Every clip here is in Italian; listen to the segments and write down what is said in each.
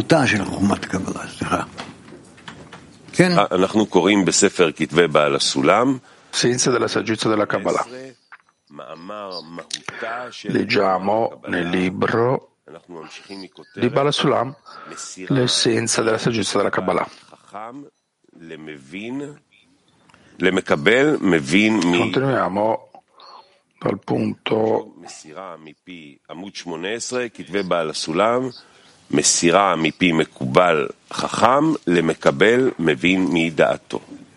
אנחנו קוראים בספר כתבי בעל הסולם, Senza della saggezza della Kabbalah. Leggiamo nel libro di Bala Sulam l'essenza della saggezza della Kabbalah. Continuiamo dal punto מסירה מפי מקובל חכם למקבל מבין מדעתו.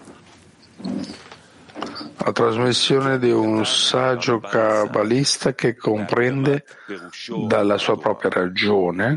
La trasmissione di un saggio kabbalista che comprende dalla sua propria ragione.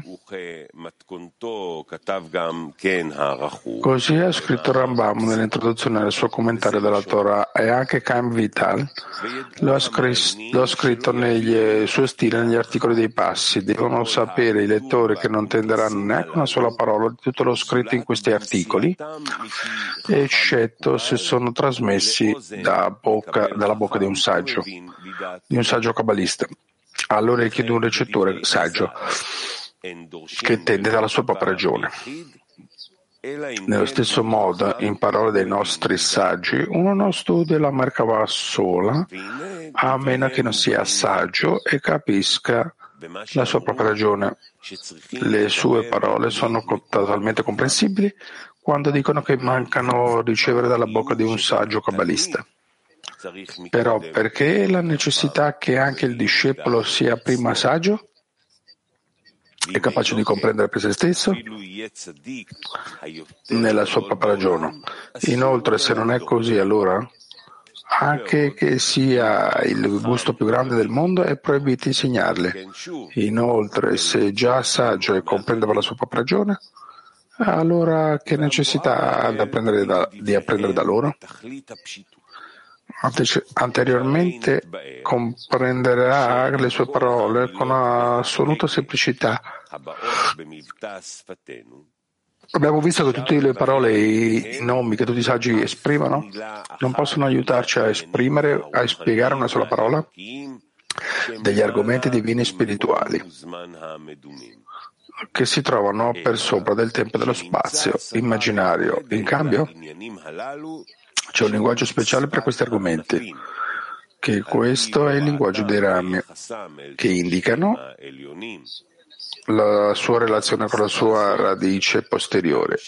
Così ha scritto Rambam nell'introduzione al suo commentario della Torah, e anche Chaim Vital lo ha scritto negli suoi stili, negli articoli dei passi. Devono sapere i lettori che non tenderanno neanche una sola parola di tutto lo scritto in questi articoli, eccetto se sono trasmessi dalla bocca di un saggio kabbalista, all'orecchio di un ricettore saggio che tende dalla sua propria ragione. Nello stesso modo, in parole dei nostri saggi, uno non studia la Merkavah sola, a meno che non sia saggio e capisca la sua propria ragione. Le sue parole sono totalmente comprensibili quando dicono che mancano ricevere dalla bocca di un saggio kabbalista. Però perché la necessità che anche il discepolo sia prima saggio e capace di comprendere per se stesso nella sua propria ragione? Inoltre, se non è così, allora anche che sia il gusto più grande del mondo è proibito insegnarle. Inoltre, se già saggio e comprende per la sua propria ragione, allora che necessità ha di apprendere da loro? Anteriormente comprenderà le sue parole con assoluta semplicità. Abbiamo visto che tutte le parole e i nomi che tutti i saggi esprimono non possono aiutarci a esprimere, a spiegare una sola parola degli argomenti divini e spirituali che si trovano per sopra del tempo e dello spazio immaginario. In cambio, c'è un linguaggio speciale per questi argomenti, che questo è il linguaggio dei rami, che indicano la sua relazione con la sua radice posteriore.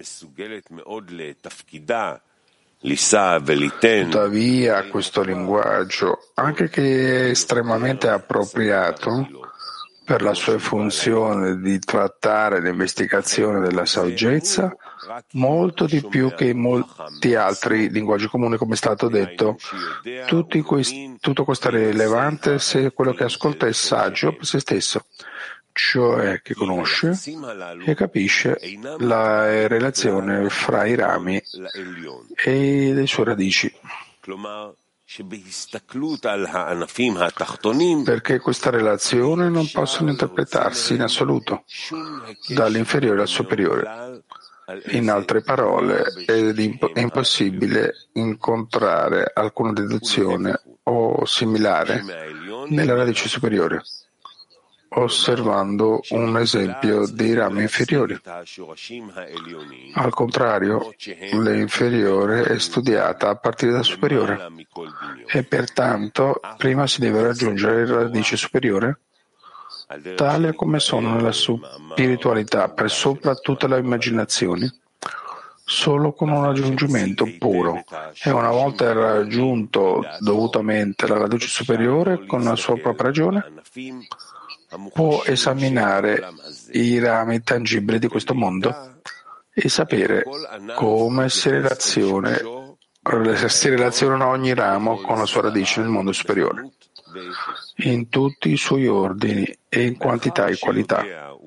Tuttavia, questo linguaggio, anche che è estremamente appropriato per la sua funzione di trattare l'investigazione della saggezza, molto di più che in molti altri linguaggi comuni, come è stato detto, tutto questo è rilevante se quello che ascolta è saggio per se stesso, cioè che conosce e capisce la relazione fra i rami e le sue radici. Perché questa relazione non possono interpretarsi in assoluto dall'inferiore al superiore. In altre parole, è impossibile incontrare alcuna deduzione o similare nella radice superiore, osservando un esempio dei rami inferiori. Al contrario, l'inferiore è studiata a partire dal superiore e pertanto prima si deve raggiungere la radice superiore, tale come sono nella spiritualità per sopra tutte le immaginazioni, solo con un raggiungimento puro, e una volta raggiunto dovutamente la radice superiore con la sua propria ragione, può esaminare i rami tangibili di questo mondo e sapere come si relazionano ogni ramo con la sua radice nel mondo superiore, in tutti i suoi ordini e in quantità e qualità.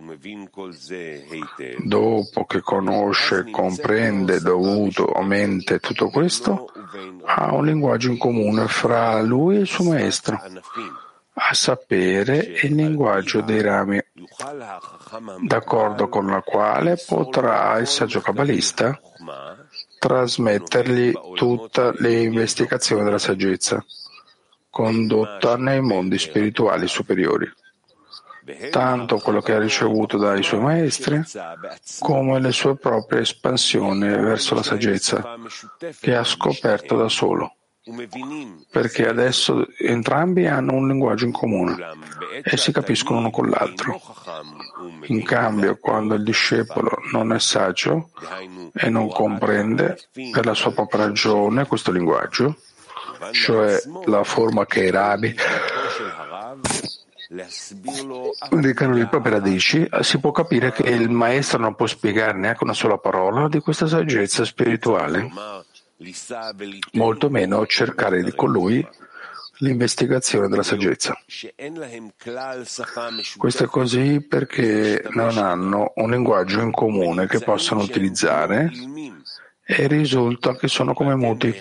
Dopo che conosce, comprende dovutamente tutto questo, ha un linguaggio in comune fra lui e il suo maestro, a sapere il linguaggio dei rami, d'accordo con la quale potrà il saggio kabbalista trasmettergli tutte le investigazioni della saggezza condotta nei mondi spirituali superiori. tanto quello che ha ricevuto dai suoi maestri, come le sue proprie espansioni verso la saggezza, che ha scoperto da solo. Perché adesso entrambi hanno un linguaggio in comune e si capiscono uno con l'altro. In cambio, quando il discepolo non è saggio e non comprende per la sua propria ragione questo linguaggio, cioè la forma che i Rabi indicano le proprie radici, si può capire che il maestro non può spiegare neanche una sola parola di questa saggezza spirituale, molto meno cercare con lui l'investigazione della saggezza. Questo è così perché non hanno un linguaggio in comune che possano utilizzare e risulta che sono come muti.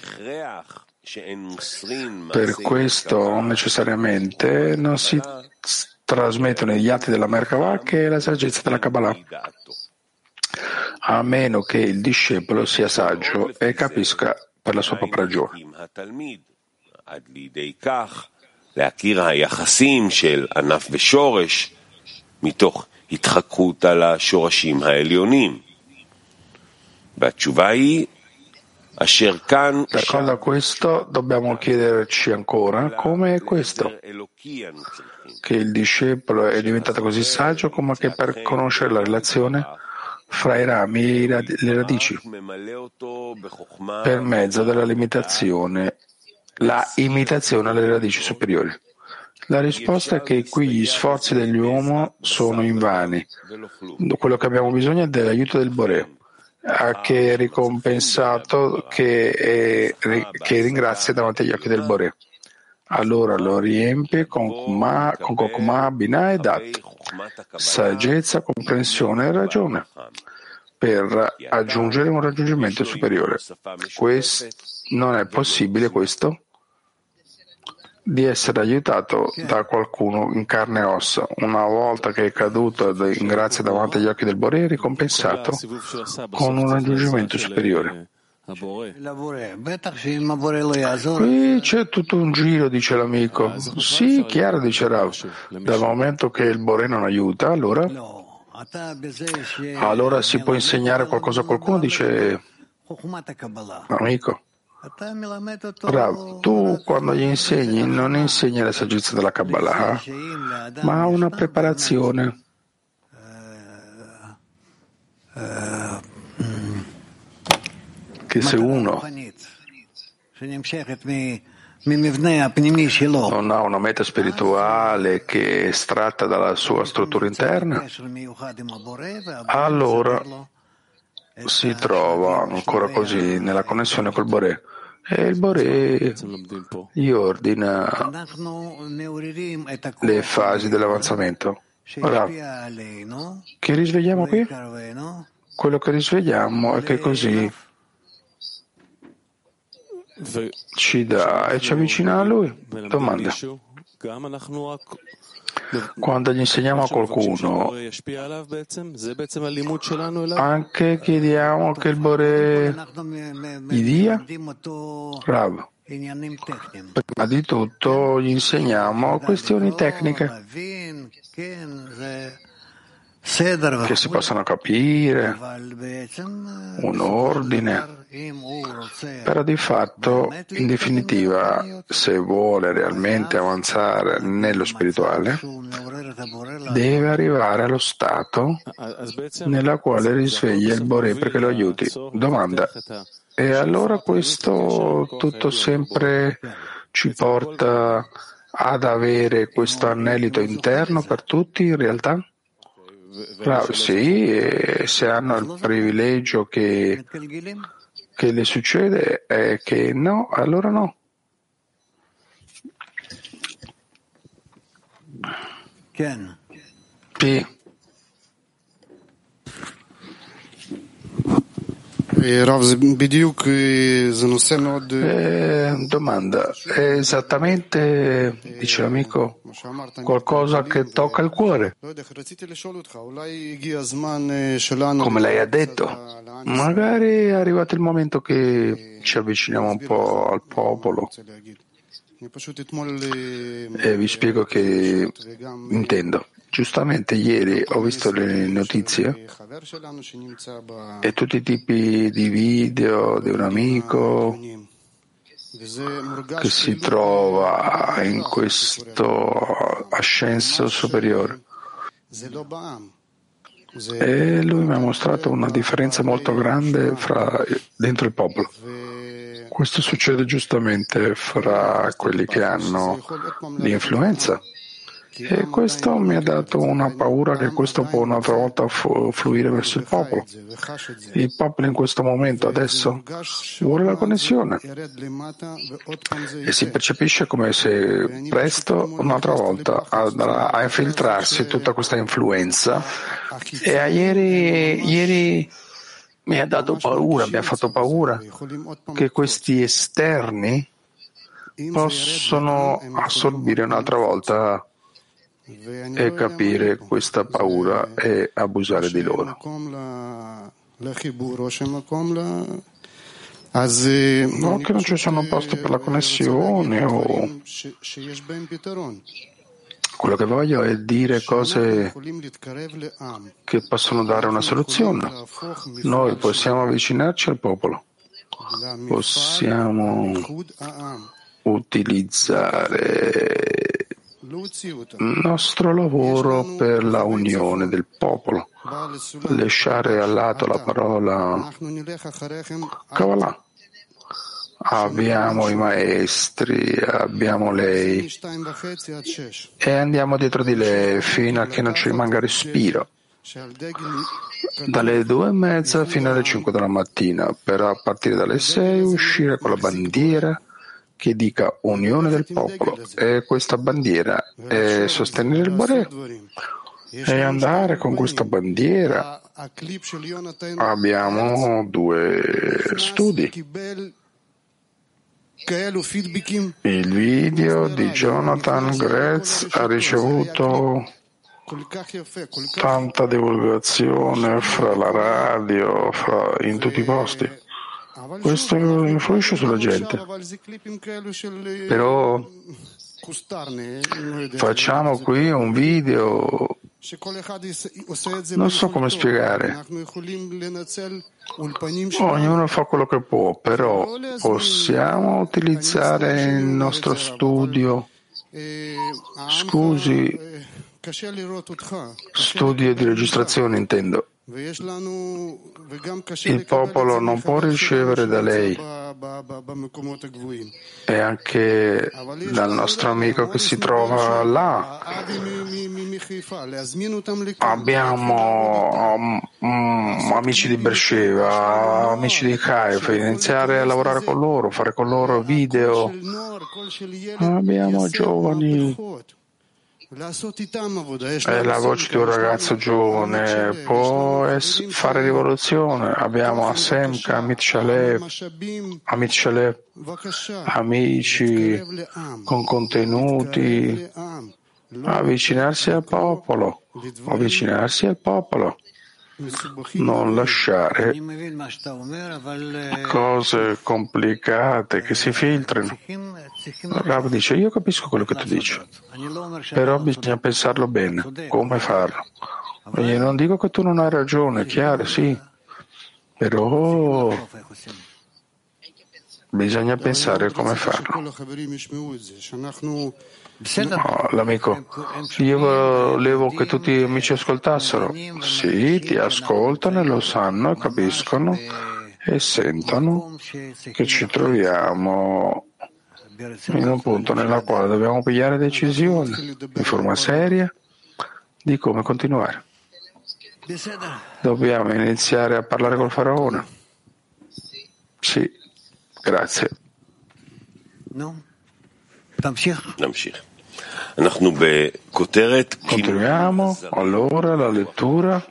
Per questo necessariamente non si trasmettono gli atti della Merkavah che è la saggezza della Kabbalah, a meno che il discepolo sia saggio e capisca per la sua propria ragione. להכיר היחסים של ענף ושורש מתוך התחקות על השורשים העליונים. והתשובה היא אשר כאן D'accordo a questo dobbiamo chiederci ancora come è questo, che il discepolo è diventato così saggio come che per conoscere la relazione fra i rami e le radici, per mezzo della limitazione, la imitazione alle radici superiori. La risposta è che qui gli sforzi dell'uomo sono invani. Quello che abbiamo bisogno è dell'aiuto del Boré, che è ricompensato, che ringrazia davanti agli occhi del Boré. Allora lo riempie con Kokma, Binah e Dat, saggezza, comprensione e ragione, per aggiungere un raggiungimento superiore. Non è possibile questo? Di essere aiutato da qualcuno in carne e ossa, una volta che è caduto in grazia davanti agli occhi del Boré, ricompensato con un raggiungimento superiore. Qui c'è tutto un giro, dice l'amico. Sì, chiaro, dice Rav. Dal momento che il Boré non aiuta, allora si può insegnare qualcosa a qualcuno, dice l'amico. Rav, tu quando gli insegni non insegni la saggezza della Kabbalah, ma una preparazione. Che se uno non ha una meta spirituale che è estratta dalla sua struttura interna, allora si trova ancora così nella connessione col Boré e il Boré gli ordina le fasi dell'avanzamento. Ora, che risvegliamo qui? Quello che risvegliamo è che così ci dà e ci avvicina a Lui. Domanda. Quando gli insegniamo a qualcuno, anche chiediamo che il Boré gli dia? Rav. Prima di tutto gli insegniamo questioni tecniche che si possano capire, un ordine, però di fatto, in definitiva, se vuole realmente avanzare nello spirituale, deve arrivare allo stato nella quale risveglia il Boré perché lo aiuti. Domanda. E allora questo tutto sempre ci porta ad avere questo anelito interno per tutti in realtà? Sì, e se hanno il privilegio che le succede è che no, allora no. Sì. Domanda, è esattamente, dice l'amico, qualcosa che tocca il cuore, come lei ha detto. Magari è arrivato il momento che ci avviciniamo un po' al popolo. E vi spiego che intendo. Giustamente ieri ho visto le notizie e tutti i tipi di video di un amico che si trova in questo ascenso superiore. E lui mi ha mostrato una differenza molto grande dentro il popolo. Questo succede giustamente fra quelli che hanno l'influenza. E questo mi ha dato una paura che questo può un'altra volta fluire verso il popolo. Il popolo in questo momento adesso vuole la connessione e si percepisce come se presto un'altra volta andrà a infiltrarsi tutta questa influenza. E ieri mi ha dato paura, mi ha fatto paura che questi esterni possono assorbire un'altra volta e capire questa paura e abusare di loro. No, che non ci sono posti per la connessione o quello che voglio è dire cose che possono dare una soluzione. Noi possiamo avvicinarci al popolo, possiamo utilizzare il nostro lavoro per la unione del popolo, lasciare al lato la parola Kabbalah. Abbiamo i maestri, abbiamo lei e andiamo dietro di lei fino a che non ci rimanga respiro. Dalle 2:30 fino alle 5 della mattina, per a partire dalle 6 uscire con la bandiera che dica unione del popolo, e questa bandiera è sostenere il Boré e andare con questa bandiera. Abbiamo 2 studi. Il video di Jonathan Gretz ha ricevuto tanta divulgazione fra la radio, in tutti i posti. Questo influisce sulla gente. Però facciamo qui un video, non so come spiegare. Ognuno fa quello che può, però possiamo utilizzare il nostro studio. Scusi, studio di registrazione intendo. Il popolo non può ricevere da lei e anche dal nostro amico che si trova là. Abbiamo amici di Beersheba, amici di Haifa, iniziare a lavorare con loro, fare con loro video. Abbiamo giovani. È la voce di un ragazzo giovane, può fare rivoluzione. Abbiamo Asemka, Amit Shalev, amici con contenuti, avvicinarsi al popolo, non lasciare cose complicate che si filtrino. Rav dice: io capisco quello che tu dici, però bisogna pensarlo bene, come farlo. Io non dico che tu non hai ragione, chiaro, sì, però bisogna pensare come farlo. No, l'amico, io volevo che tutti gli amici ascoltassero. Sì, ti ascoltano e lo sanno, capiscono e sentono che ci troviamo in un punto nella quale dobbiamo pigliare decisioni in forma seria di come continuare. Dobbiamo iniziare a parlare col faraone. Sì, grazie. Continuiamo allora la lettura.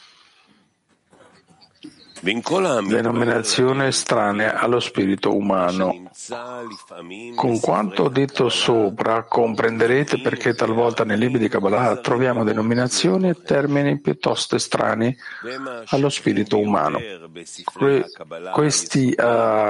Denominazione estranea allo spirito umano. Con quanto detto sopra comprenderete perché talvolta nei libri di Kabbalah troviamo denominazioni e termini piuttosto estranei allo spirito umano. Questi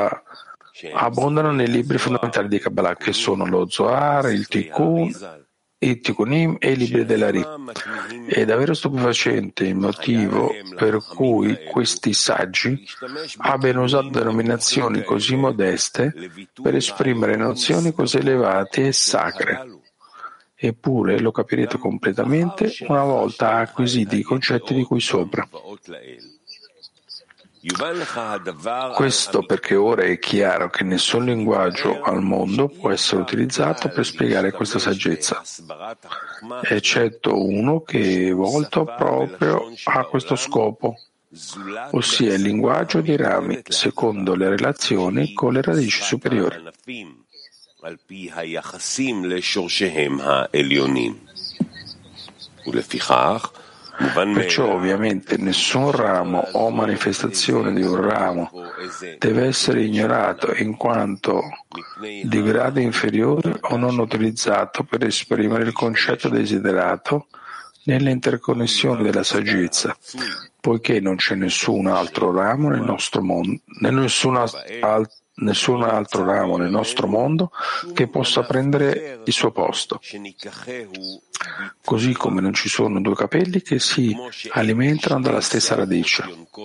abbondano nei libri fondamentali di Kabbalah, che sono lo Zohar, il Tikkun i Tikkunim e i libri della Ri. È davvero stupefacente il motivo per cui questi saggi abbiano usato denominazioni così modeste per esprimere nozioni così elevate e sacre. Eppure lo capirete completamente una volta acquisiti i concetti di cui sopra. Questo perché ora è chiaro che nessun linguaggio al mondo può essere utilizzato per spiegare questa saggezza, eccetto uno che è volto proprio a questo scopo, ossia il linguaggio dei rami, secondo le relazioni con le radici superiori. Perciò ovviamente nessun ramo o manifestazione di un ramo deve essere ignorato in quanto di grado inferiore o non utilizzato per esprimere il concetto desiderato nelle interconnessioni della saggezza, poiché non c'è nessun altro ramo nel nostro mondo, nessun altro ramo nel nostro mondo che possa prendere il suo posto. Così come non ci sono due capelli che si alimentano dalla stessa radice.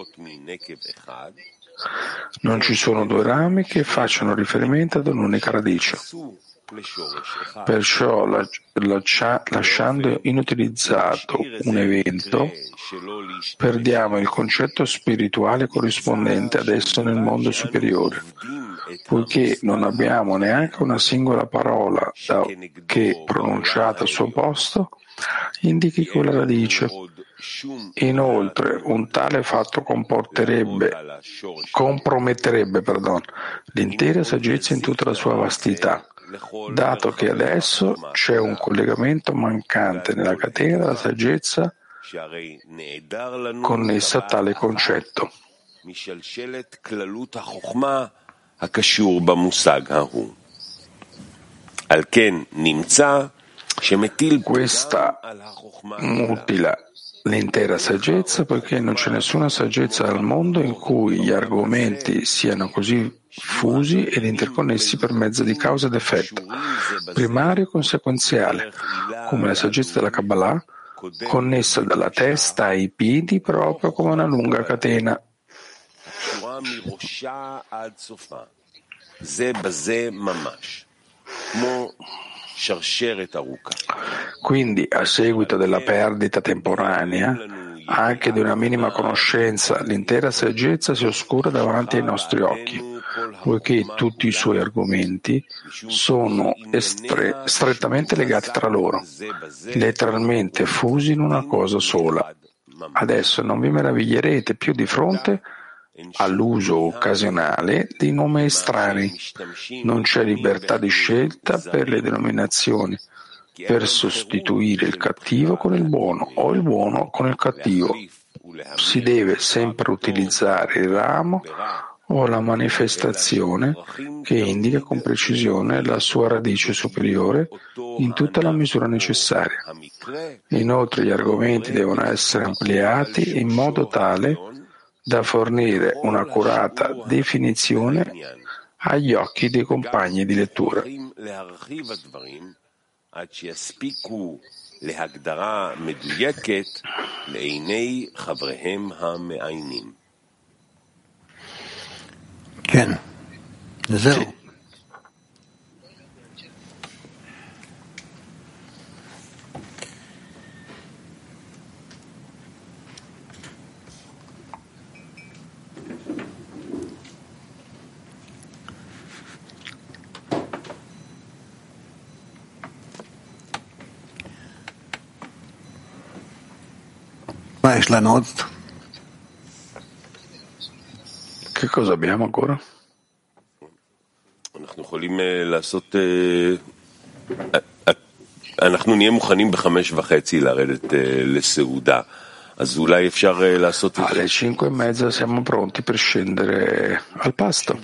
Non ci sono due rami che facciano riferimento ad un'unica radice. Perciò, lasciando inutilizzato un evento, perdiamo il concetto spirituale corrispondente ad esso nel mondo superiore, poiché non abbiamo neanche una singola parola che, pronunciata al suo posto, indichi quella radice. Inoltre, un tale fatto comprometterebbe l'intera saggezza in tutta la sua vastità, dato che adesso c'è un collegamento mancante nella catena della saggezza connessa a tale concetto. Questa mutila l'intera saggezza, poiché non c'è nessuna saggezza al mondo in cui gli argomenti siano così fusi ed interconnessi per mezzo di causa ed effetto, primario e conseguenziale, come la saggezza della Kabbalah, connessa dalla testa ai piedi proprio come una lunga catena. Quindi, a seguito della perdita temporanea, anche di una minima conoscenza, l'intera saggezza si oscura davanti ai nostri occhi, poiché tutti i suoi argomenti sono strettamente legati tra loro, letteralmente fusi in una cosa sola. Adesso non vi meraviglierete più di fronte all'uso occasionale di nomi estranei. Non c'è libertà di scelta per le denominazioni, per sostituire il cattivo con il buono o il buono con il cattivo. Si deve sempre utilizzare il ramo o la manifestazione che indica con precisione la sua radice superiore in tutta la misura necessaria. Inoltre gli argomenti devono essere ampliati in modo tale da fornire un'accurata definizione agli occhi dei compagni di lettura. Sì. Che cosa abbiamo ancora? אנחנו נהיה מוכנים ב5:30 לרדת לסעודה. אז אולי אפשר לעשות את זה. Alle 5:30 siamo pronti per scendere al pasto,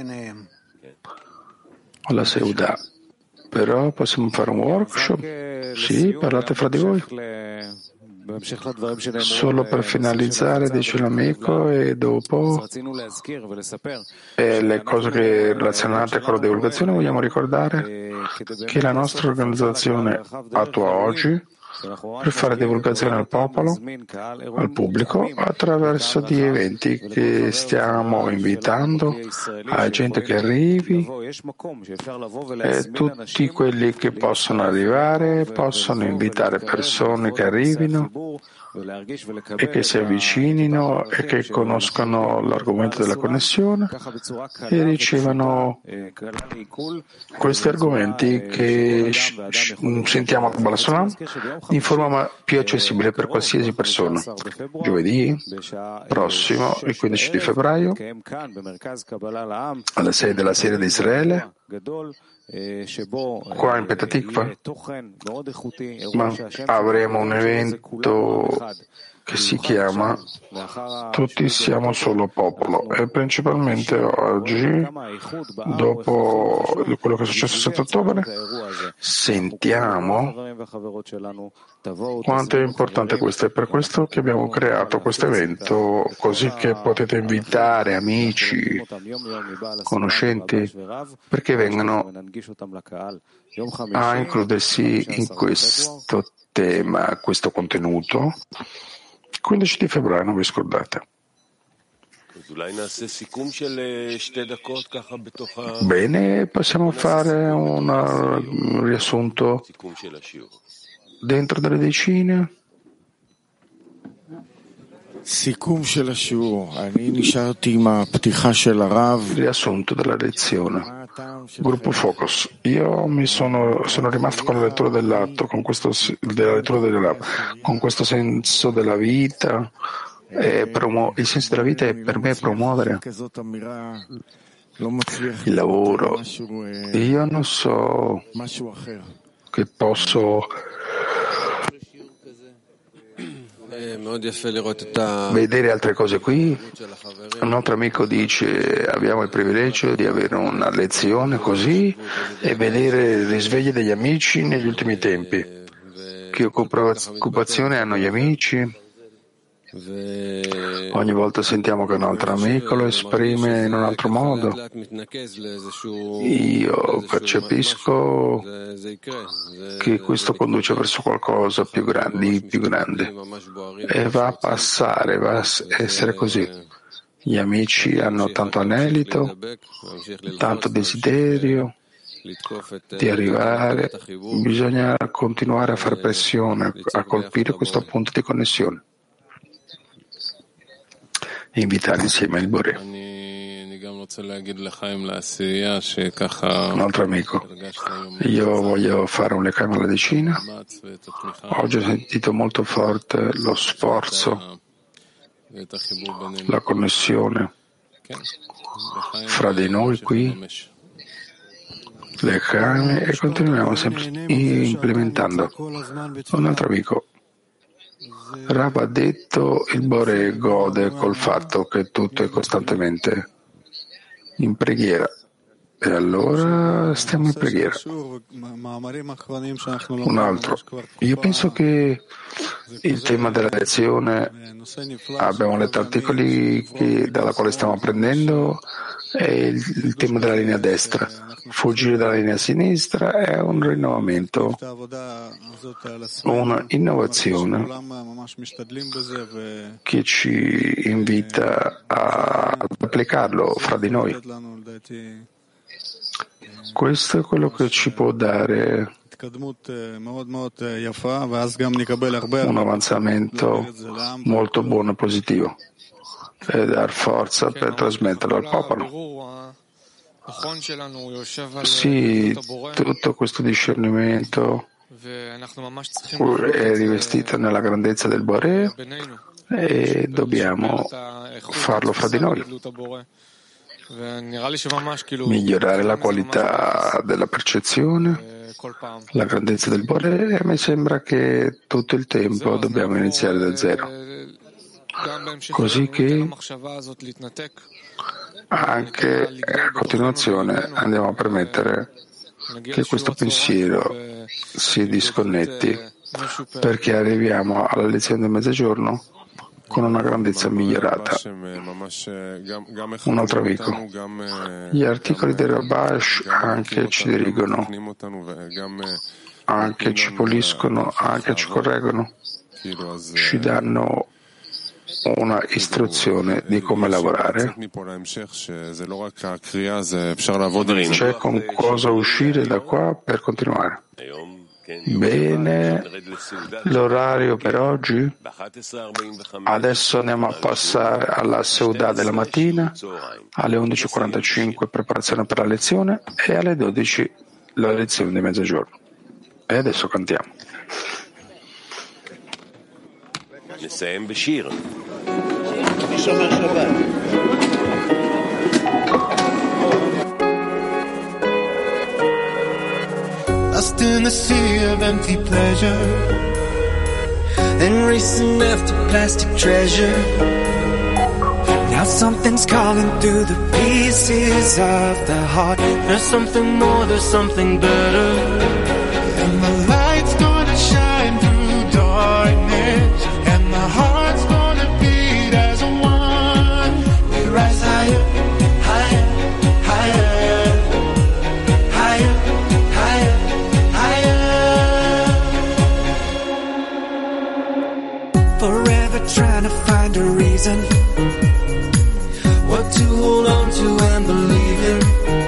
alla Seuda. Però possiamo fare un workshop? Sì, parlate fra di voi. Solo per finalizzare, dice l'amico, e dopo le cose relazionate con la divulgazione, vogliamo ricordare che la nostra organizzazione attua oggi per fare divulgazione al popolo, al pubblico, attraverso di eventi che stiamo invitando a gente che arrivi, e tutti quelli che possono arrivare possono invitare persone che arrivino e che si avvicinino e che conoscano l'argomento della connessione e ricevano questi argomenti che sentiamo a Balasolam in forma più accessibile per qualsiasi persona. Giovedì prossimo, il 15 di febbraio, alle 6 della sera di Israele, qua in Petah Tikva, ma avremo un evento che si chiama Tutti siamo solo popolo, e principalmente oggi, dopo quello che è successo il 7 ottobre, sentiamo quanto è importante questo. È per questo che abbiamo creato questo evento, così che potete invitare amici, conoscenti, perché vengano a includersi in questo tema, questo contenuto. 15 di febbraio, non vi scordate. Bene, possiamo fare un riassunto dentro delle decine. Riassunto della lezione. Gruppo Focus. Io sono rimasto con la lettura dell'atto, con questo senso della vita. Il senso della vita è per me promuovere il lavoro. Io non so che posso vedere altre cose qui. Un altro amico dice: abbiamo il privilegio di avere una lezione così e vedere il risveglio degli amici negli ultimi tempi. Che occupazione hanno gli amici? Ogni volta sentiamo che un altro amico lo esprime in un altro modo. Io percepisco che questo conduce verso qualcosa più grande e va a passare, va a essere così. Gli amici hanno tanto anelito, tanto desiderio di arrivare, bisogna continuare a fare pressione, a colpire questo punto di connessione. Invitare insieme il Boré. Un altro amico, io voglio fare un Lechaim alla decina. Oggi ho sentito molto forte lo sforzo, la connessione fra di noi qui, Lechaim, e continuiamo sempre implementando. Un altro amico, Rav ha detto il Boré gode col fatto che tutto è costantemente in preghiera, e allora stiamo in preghiera. Un altro, io penso che il tema della lezione, abbiamo letto articoli dalla quale stiamo apprendendo, è il tema della linea destra. Fuggire dalla linea sinistra è un rinnovamento, una innovazione che ci invita ad applicarlo fra di noi. Questo è quello che ci può dare un avanzamento molto buono e positivo e dar forza per trasmetterlo al popolo. Sì, tutto questo discernimento è rivestito nella grandezza del Boré e dobbiamo farlo fra di noi. Migliorare la qualità della percezione, la grandezza del Boré, e mi sembra che tutto il tempo dobbiamo iniziare da zero. Così che anche a continuazione andiamo a permettere che questo pensiero si disconnetti perché arriviamo alla lezione del mezzogiorno con una grandezza migliorata. Un altro amico. Gli articoli del Rabash anche ci dirigono, anche ci puliscono, anche ci correggono, ci danno una istruzione di come lavorare. C'è con cosa uscire da qua per continuare. Bene, l'orario per oggi. Adesso andiamo a passare alla Seudah della mattina, alle 11:45 preparazione per la lezione e alle 12 la lezione di mezzogiorno. E adesso cantiamo. Lost in the sea of empty pleasure, then racing after plastic treasure. Now something's calling through the pieces of the heart. There's something more, there's something better. And the light's gonna shine through darkness, and the heart's gonna beat as one. We rise higher, higher, higher, higher, higher, higher. Forever trying to find a reason, what to hold on to and believe in.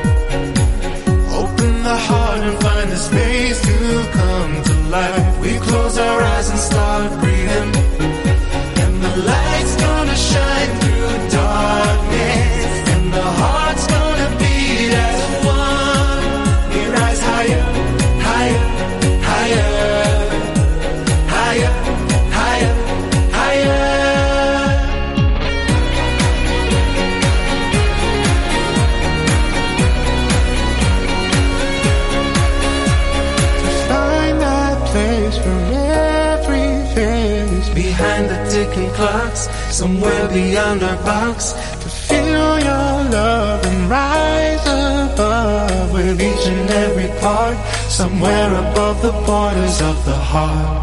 Open the heart and find the space to come to life. We close our eyes and start breathing, and the light's gonna shine through darkness, and the heart's gonna beat as one. We rise higher, higher, higher, higher, higher, higher. Behind the ticking clocks, somewhere beyond our box, to feel your love and rise above with each and every part, somewhere above the borders of the heart.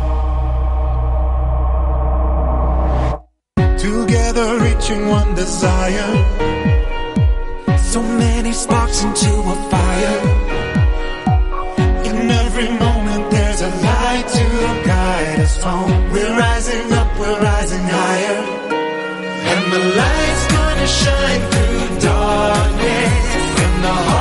Together reaching one desire, so many sparks into a fire. In every moment there's a light to guide us home. We're rising up, we're rising higher, and the light's gonna shine through darkness, and the